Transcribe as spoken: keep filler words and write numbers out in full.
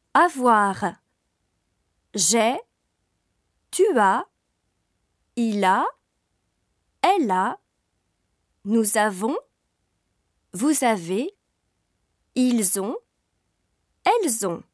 Avoir. J'ai, tu as, il a, elle a, nous avons, vous avez, ils ont, elles ont.